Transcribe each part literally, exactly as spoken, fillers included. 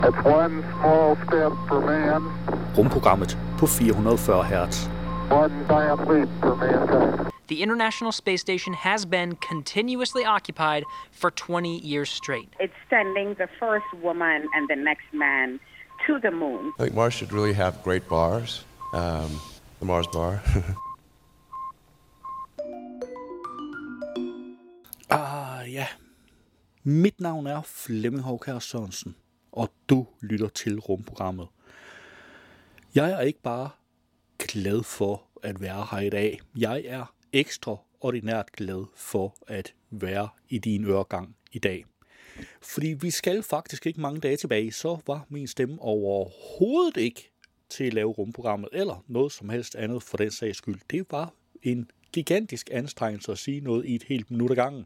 It's one small step for man. Rumprogrammet på fire hundrede og fyrre hertz. One giant leap for mankind. The International Space Station has been continuously occupied for twenty years straight. It's sending the first woman and the next man to the moon. I think Mars should really have great bars. Um, the Mars bar. Ah ja, mit navn er Flemming Hovkær Sørensen, og du lytter til Rumprogrammet. Jeg er ikke bare glad for at være her i dag. Jeg er ekstraordinært glad for at være i din øregang i dag. Fordi vi skal faktisk ikke mange dage tilbage, så var min stemme overhovedet ikke til at lave rumprogrammet, eller noget som helst andet for den sags skyld. Det var en gigantisk anstrengelse at sige noget i et helt minut ad gangen.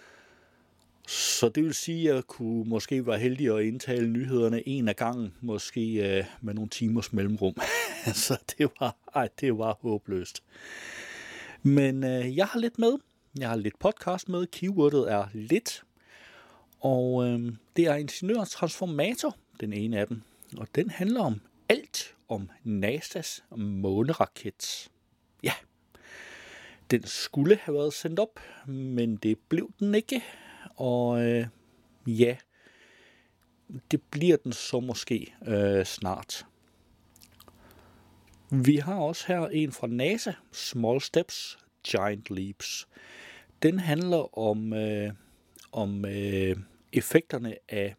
Så det vil sige, at jeg kunne måske være heldig at indtale nyhederne en af gangen, måske øh, med nogle timers mellemrum. Så det var, ej, det var håbløst. Men øh, jeg har lidt med. Jeg har lidt podcast med. Keywordet er lidt. Og øh, det er Ingeniør Transformator, den ene af dem. Og den handler om alt om NASA's måneraket. Ja, den skulle have været sendt op, men det blev den ikke. Og øh, ja, det bliver den så måske øh, snart. Vi har også her en fra NASA, Small Steps, Giant Leaps. Den handler om, øh, om øh, effekterne af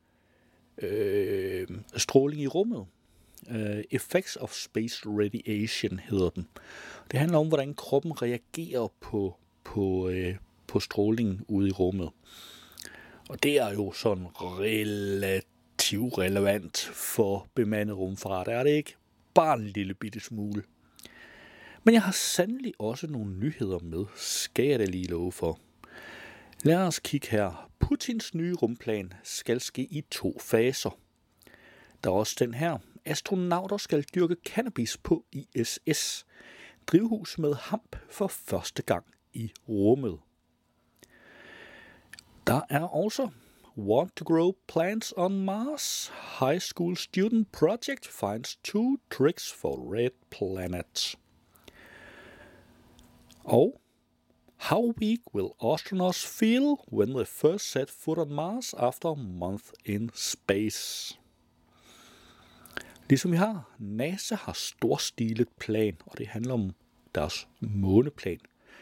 øh, stråling i rummet. Uh, Effects of Space Radiation hedder den. Det handler om, hvordan kroppen reagerer på, på, uh, på strålingen ude i rummet. Og det er jo sådan relativt relevant for bemandet rumfart, er det ikke? Bare en lille bitte smule. Men jeg har sandelig også nogle nyheder med, skal jeg da lige love for. Lad os kigge her. Putins nye rumplan skal ske i to faser. Der er også den her. Astronauter skal dyrke cannabis på I S S. Drivhus med hamp for første gang i rummet. Der er også Want to grow plants on Mars? High school student project finds two tricks for red planet. Og How weak will astronauts feel when they first set foot on Mars after a month in space? Ligesom vi har, NASA har storstilet plan, og det handler om deres måneplan.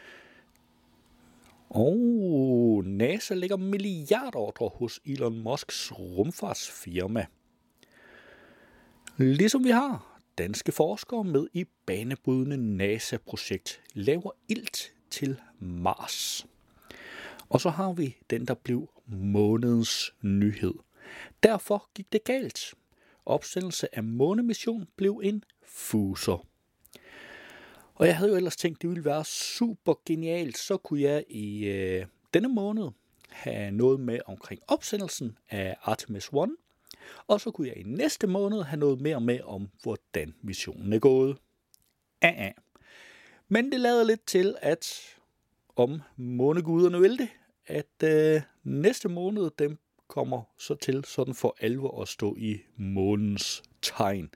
Og NASA lægger milliardordre hos Elon Musks rumfartsfirma. Ligesom vi har, danske forskere med i banebrydende NASA-projekt laver ilt til Mars. Og så har vi den, der blev månedens nyhed. Derfor gik det galt. Opsendelse af månemission blev en fuser. Og jeg havde jo ellers tænkt, det ville være super genialt. Så kunne jeg i øh, denne måned have noget med omkring opsendelsen af Artemis et. Og så kunne jeg i næste måned have noget mere med om, hvordan missionen er gået. Ah, ah. Men det lader lidt til, at om måneguderne vil det, at øh, næste måned dem kommer så til sådan for alvor at stå i månens tegn.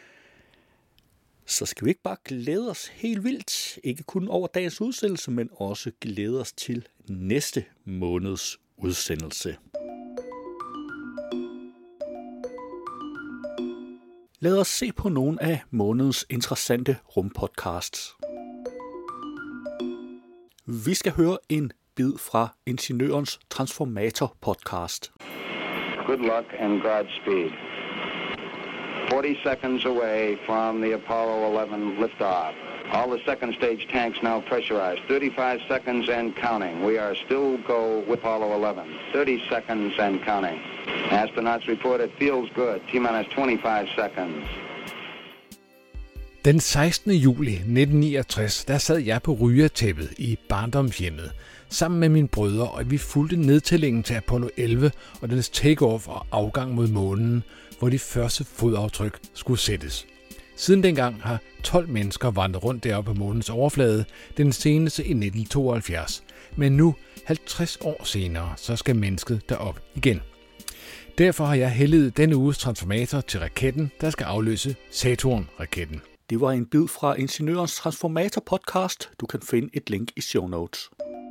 Så skal vi ikke bare glæde os helt vildt, ikke kun over dagens udsendelse, men også glæde os til næste måneds udsendelse. Lad os se på nogle af månedens interessante rumpodcasts. Vi skal høre en bid fra Ingeniørens Transformator podcast. Good luck and Godspeed. forty seconds away from the Apollo eleven liftoff. All the second stage tanks now pressurized. thirty-five seconds and counting. We are still go with Apollo eleven. thirty seconds and counting. Astronauts report it feels good. T-minus twenty-five seconds. Den sekstende juli nitten niogtres, der sad jeg på rygertæppet i barndomshjemmet sammen med mine brødre, og vi fulgte nedtællingen til Apollo elleve og dens takeoff og afgang mod månen, hvor de første fodaftryk skulle sættes. Siden dengang har tolv mennesker vandret rundt deroppe på månens overflade, den seneste i nitten tooghalvfjerds. Men nu, halvtreds år senere, så skal mennesket derop igen. Derfor har jeg helliget denne uges transformator til raketten, der skal afløse Saturn-raketten. Det var en bid fra Ingeniørens Transformator podcast. Du kan finde et link i show notes.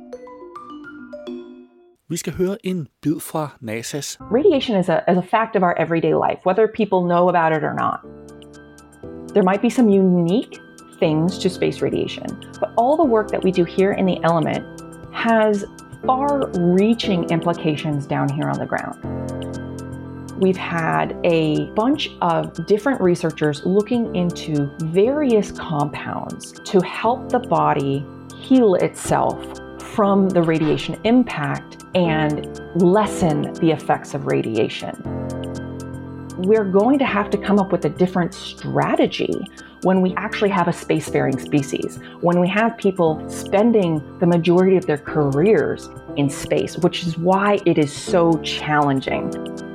Vi skal høre en bid fra NASA's. Radiation is a, is a fact of our everyday life, whether people know about it or not. There might be some unique things to space radiation, but all the work that we do here in the element has far-reaching implications down here on the ground. We've had a bunch of different researchers looking into various compounds to help the body heal itself from the radiation impact and lessen the effects of radiation. We're going to have to come up with a different strategy when we actually have a spacefaring species, when we have people spending the majority of their careers in space, which is why it is so challenging.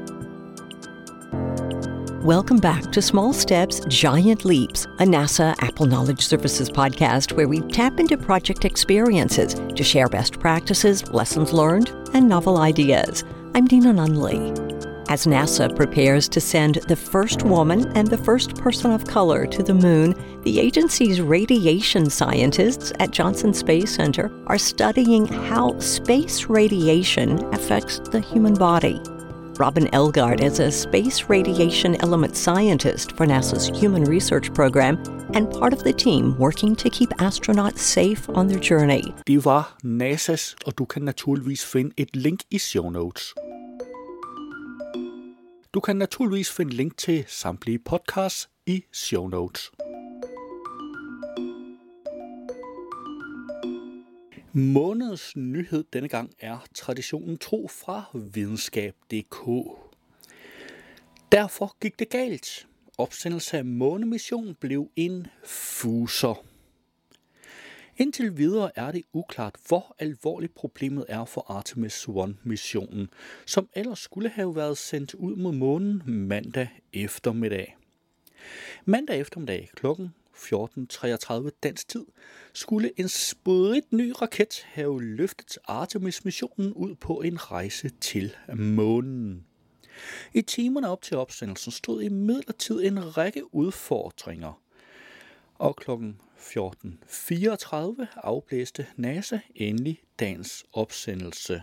Welcome back to Small Steps, Giant Leaps, a NASA Apple Knowledge Services podcast where we tap into project experiences to share best practices, lessons learned, and novel ideas. I'm Dina Nunley. As NASA prepares to send the first woman and the first person of color to the moon, the agency's radiation scientists at Johnson Space Center are studying how space radiation affects the human body. Robin Elgard is a space radiation element scientist for NASA's Human Research Program and part of the team working to keep astronauts safe on their journey. Det var NASA's, og du kan naturligvis finde et link i show notes. Du kan naturligvis finde link til samtlige podcasts i show notes. Månedens nyhed denne gang er traditionen tro fra videnskab punktum d k. Derfor gik det galt. Opsendelse af månemissionen blev en fuser. Indtil videre er det uklart, hvor alvorligt problemet er for Artemis one-missionen, som ellers skulle have været sendt ud mod månen mandag eftermiddag. Mandag eftermiddag klokken fjorten treogtredive dansk tid skulle en sprit ny raket have løftet Artemis-missionen ud på en rejse til månen. I timerne op til opsendelsen stod imidlertid en række udfordringer, og klokken fjorten fireogtredive afblæste NASA endelig dagens opsendelse.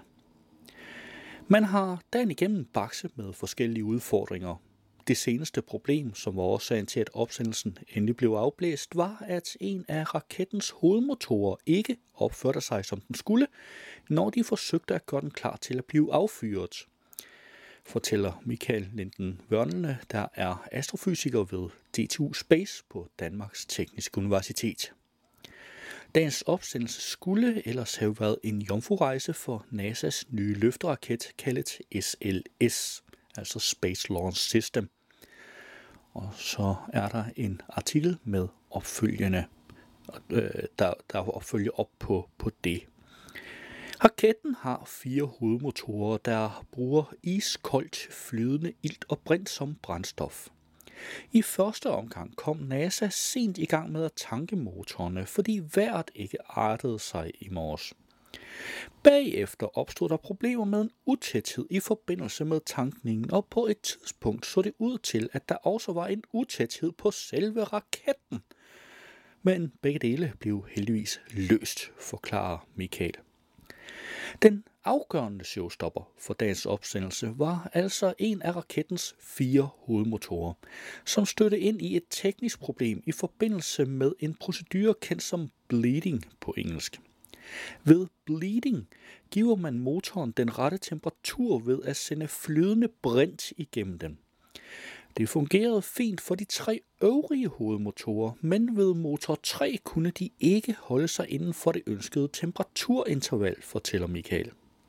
Man har dagen igennem bakset med forskellige udfordringer. Det seneste problem, som var årsagen til, at opsendelsen endelig blev afblæst, var, at en af rakettens hovedmotorer ikke opførte sig, som den skulle, når de forsøgte at gøre den klar til at blive affyret, fortæller Michael Linden Wørnle, der er astrofysiker ved D T U Space på Danmarks Tekniske Universitet. Dagens opsendelse skulle ellers have været en jomfrurejse for NASA's nye løfteraket, kaldet S L S, altså Space Launch System. Og så er der en artikel med opfølgende, øh, der, der opfølger op på, på det. Raketten har fire hovedmotorer, der bruger iskoldt flydende ilt og brint som brændstof. I første omgang kom NASA sent i gang med at tanke motorerne, fordi vejret ikke artede sig i morges. Bagefter opstod der problemer med en utæthed i forbindelse med tankningen, og på et tidspunkt så det ud til, at der også var en utæthed på selve raketten. Men begge dele blev heldigvis løst, forklarer Michael. Den afgørende showstopper for dagens opsendelse var altså en af rakettens fire hovedmotorer, som stødte ind i et teknisk problem i forbindelse med en procedure kendt som bleeding på engelsk. Ved bleeding giver man motoren den rette temperatur ved at sende flydende brint igennem den. Det fungerede fint for de tre øvrige hovedmotorer, men ved motor tre kunne de ikke holde sig inden for det ønskede temperaturinterval, fortæller Michael.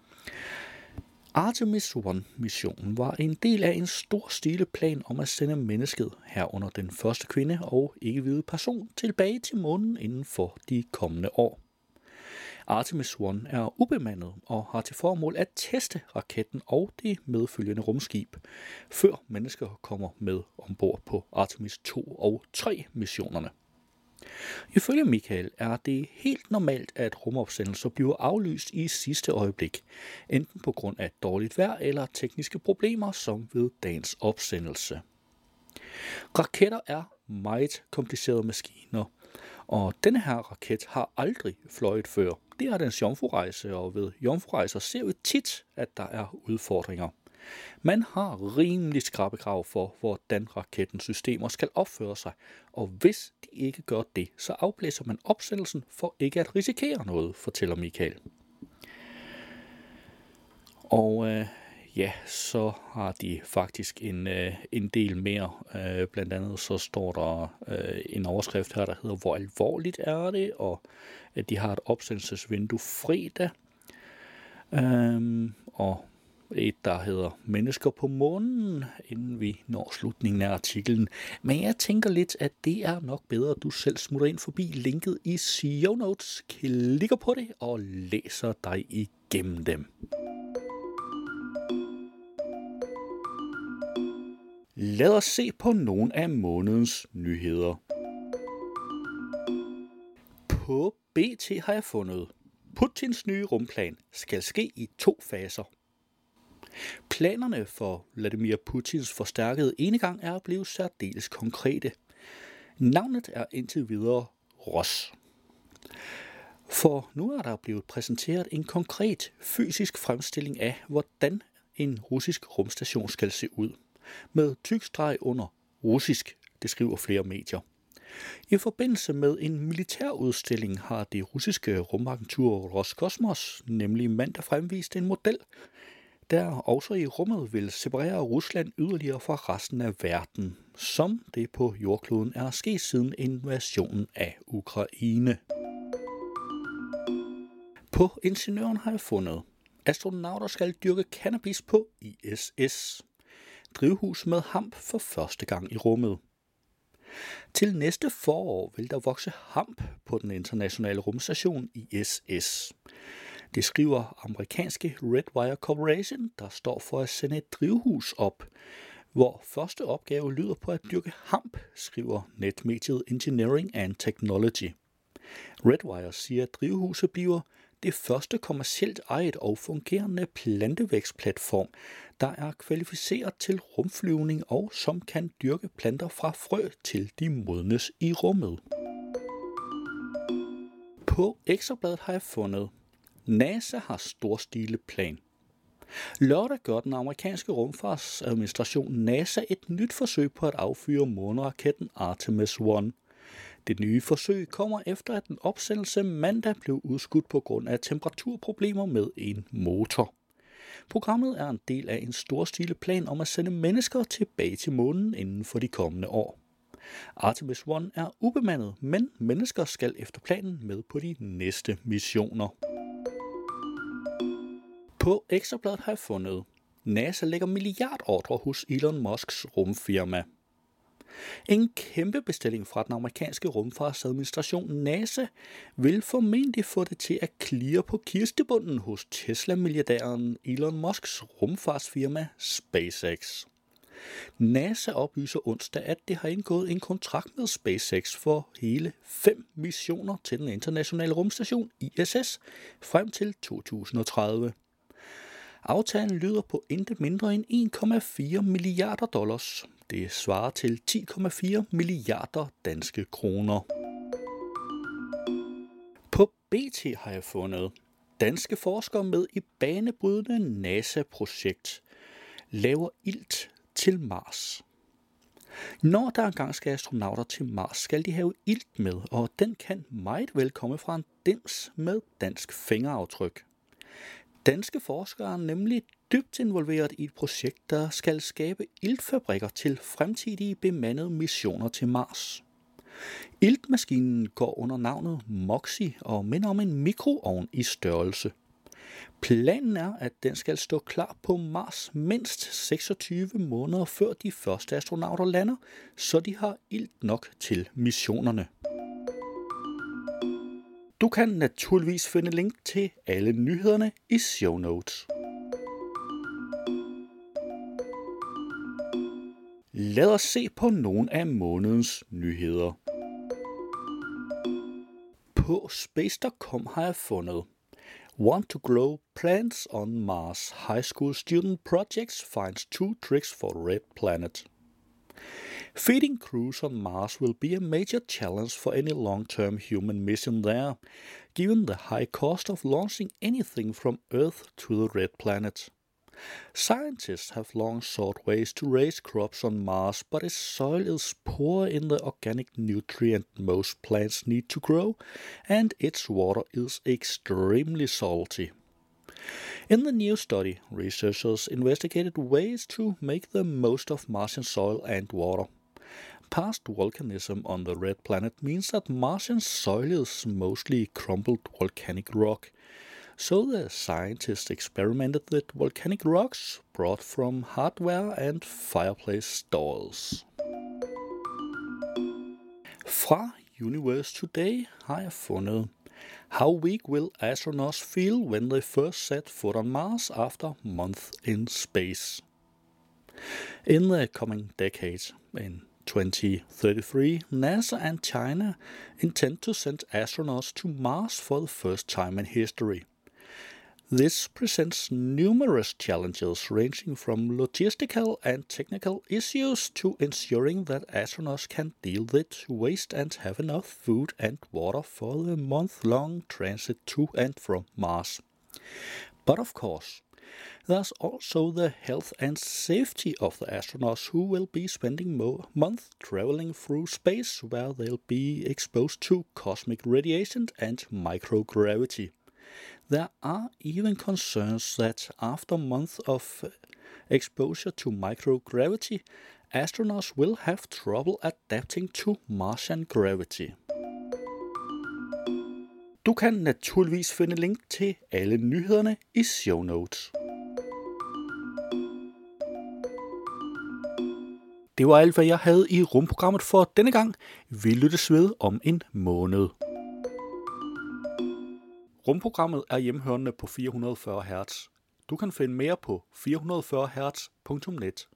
Artemis one-missionen var en del af en stor stileplan om at sende mennesket, herunder den første kvinde og ikke-hvide person, tilbage til månen inden for de kommende år. Artemis one er ubemandet og har til formål at teste raketten og det medfølgende rumskib, før mennesker kommer med ombord på Artemis to og tre missionerne. Ifølge Michael er det helt normalt, at rumopsendelser bliver aflyst i sidste øjeblik, enten på grund af dårligt vejr eller tekniske problemer, som ved dagens opsendelse. Raketter er meget komplicerede maskiner, og denne her raket har aldrig fløjet før. Det er dens jomfrurejse, og ved jomfrurejser ser vi tit, at der er udfordringer. Man har rimelig skrappe krav for, hvordan rakettens systemer skal opføre sig, og hvis de ikke gør det, så afblæser man opsendelsen for ikke at risikere noget, fortæller Michael. Og øh, ja, så har de faktisk en, øh, en del mere. Øh, blandt andet så står der øh, en overskrift her, der hedder, hvor alvorligt er det, og at de har et opsendelsesvindue fredag. Øh, og et, der hedder Mennesker på månen, inden vi når slutningen af artiklen. Men jeg tænker lidt, at det er nok bedre, at du selv smutter ind forbi linket i show notes, klikker på det og læser dig igennem dem. Lad os se på nogle af månedens nyheder. På B T har jeg fundet, Putins nye rumplan skal ske i to faser. Planerne for Vladimir Putins forstærkede enegang er blevet særdeles konkrete. Navnet er indtil videre Ros. For nu er der blevet præsenteret en konkret fysisk fremstilling af, hvordan en russisk rumstation skal se ud. Med tyk streg under russisk, det skriver flere medier. I forbindelse med en militærudstilling har det russiske rumagentur Roskosmos nemlig mandag fremvist en model, der også i rummet vil separere Rusland yderligere fra resten af verden, som det på jordkloden er sket siden invasionen af Ukraine. På Ingeniøren har jeg fundet, astronauter skal dyrke cannabis på I S S. Drivhus med hamp for første gang i rummet. Til næste forår vil der vokse hamp på den internationale rumstation I S S. Det skriver amerikanske Redwire Corporation, der står for at sende et drivhus op, hvor første opgave lyder på at dyrke hamp, skriver netmediet Engineering and Technology. Redwire siger, at drivhuset bliver det første kommercielt ejet og fungerende plantevækstplatform, der er kvalificeret til rumflyvning og som kan dyrke planter fra frø til de modnes i rummet. På Ekstrabladet har jeg fundet, NASA har storstilet plan. Lørdag gør den amerikanske rumfartsadministration NASA et nyt forsøg på at affyre måneraketten Artemis et. Det nye forsøg kommer efter, at en opsendelse mandag blev udskudt på grund af temperaturproblemer med en motor. Programmet er en del af en storstilet plan om at sende mennesker tilbage til månen inden for de kommende år. Artemis et er ubemandet, men mennesker skal efter planen med på de næste missioner. På Ekstrabladet har jeg fundet, NASA lægger milliardordre hos Elon Musks rumfirma. En kæmpe bestilling fra den amerikanske rumfartsadministration NASA vil formentlig få det til at klirre på kistebunden hos Tesla-milliardæren Elon Musks rumfartsfirma SpaceX. NASA oplyser onsdag, at det har indgået en kontrakt med SpaceX for hele fem missioner til den internationale rumstation I S S frem til to tusind og tredive. Aftalen lyder på intet mindre end en komma fire milliarder dollars. Det svarer til ti komma fire milliarder danske kroner. På B T har jeg fundet, danske forskere med i banebrydende NASA-projekt laver ilt til Mars. Når der engang skal astronauter til Mars, skal de have ilt med, og den kan meget vel komme fra en dims med dansk fingeraftryk. Danske forskere er nemlig dybt involveret i et projekt, der skal skabe iltfabrikker til fremtidige bemandede missioner til Mars. Iltmaskinen går under navnet MOXIE og minder om en mikroovn i størrelse. Planen er, at den skal stå klar på Mars mindst seksogtyve måneder før de første astronauter lander, så de har ilt nok til missionerne. Du kan naturligvis finde link til alle nyhederne i show notes. Lad os se på nogle af månedens nyheder. På space punktum com har jeg fundet: Want to grow plants on Mars? High school student projects finds two tricks for red planet. Feeding crews on Mars will be a major challenge for any long-term human mission there, given the high cost of launching anything from Earth to the red planet. Scientists have long sought ways to raise crops on Mars, but its soil is poor in the organic nutrient most plants need to grow, and its water is extremely salty. In the new study, researchers investigated ways to make the most of Martian soil and water. Past volcanism on the red planet means that Martian soil is mostly crumbled volcanic rock. So the scientists experimented with volcanic rocks brought from hardware and fireplace stalls. Fra Universe Today har jeg fundet: How weak will astronauts feel when they first set foot on Mars after months in space? In the coming decades, in twenty thirty-three, NASA and China intend to send astronauts to Mars for the first time in history. This presents numerous challenges ranging from logistical and technical issues to ensuring that astronauts can deal with waste and have enough food and water for the month-long transit to and from Mars. But of course, there's also the health and safety of the astronauts who will be spending mo- months traveling through space where they'll be exposed to cosmic radiation and microgravity. There are even concerns that after months of exposure to microgravity, astronauts will have trouble adapting to Martian gravity. Du kan naturligvis finde link til alle nyhederne i show notes. Det var alt, hvad jeg havde i rumprogrammet for denne gang. Vi lyttes ved om en måned. Rumprogrammet er hjemhørende på fire hundrede og fyrre hertz. Du kan finde mere på fire hundrede og fyrre hertz punktum net.